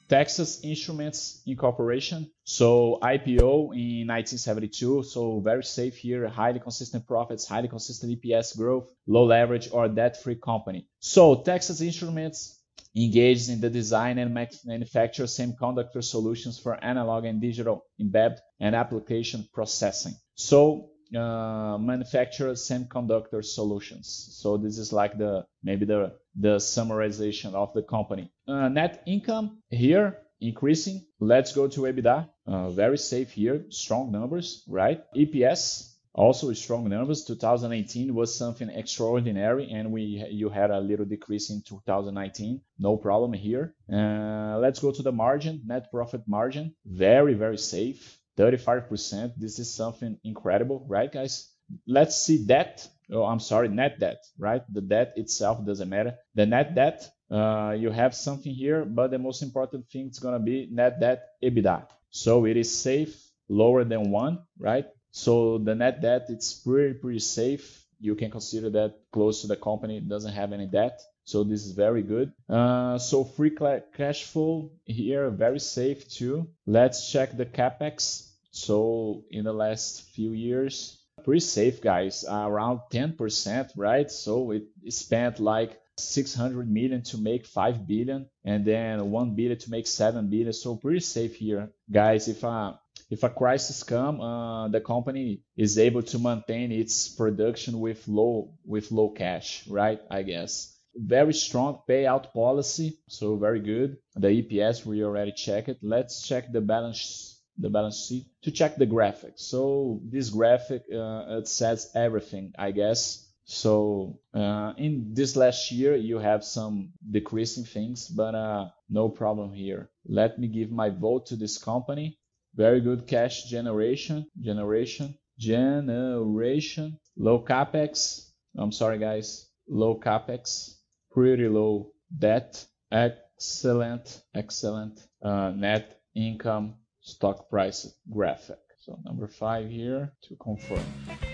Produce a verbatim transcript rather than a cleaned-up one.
Texas Instruments Incorporation. So I P O in nineteen seventy-two. So very safe here, highly consistent profits, highly consistent E P S growth, low leverage or debt-free company. So Texas Instruments engaged in the design and manufacture semiconductor solutions for analog and digital embedded and application processing. So uh, manufacture semiconductor solutions. So this is like the maybe the the summarization of the company. Uh, net income here increasing. Let's go to EBITDA. Uh, very safe here, strong numbers, right? E P S also strong numbers. two thousand eighteen was something extraordinary, and we you had a little decrease in two thousand nineteen. No problem here. Uh, let's go to the margin, net profit margin. Very very safe, thirty-five percent. This is something incredible, right, guys? Let's see debt. Oh, I'm sorry, net debt, right? The debt itself doesn't matter. The net debt, uh, you have something here, but the most important thing is gonna be net debt EBITDA. So it is safe, lower than one, right? So the net debt, it's pretty, pretty safe. You can consider that close to the company, it doesn't have any debt. So this is very good. Uh, so free cash flow here, very safe too. Let's check the CapEx. So in the last few years, pretty safe, guys, uh, around ten percent, right? So it spent like six hundred million to make five billion and then one billion to make seven billion. So pretty safe here, guys. If uh, if a crisis come, uh, the company is able to maintain its production with low with low cash, right? I guess. Very strong payout policy, so very good. The E P S we already checked it. Let's check the balance the balance sheet to check the graphic. So this graphic uh, it says everything, I guess. So uh, in this last year you have some decreasing things, but uh, no problem here. Let me give my vote to this company. Very good cash generation, generation, generation, low capex. I'm sorry, guys, low capex, pretty low debt, excellent, excellent uh, net income, stock price graphic. So number five here to confirm.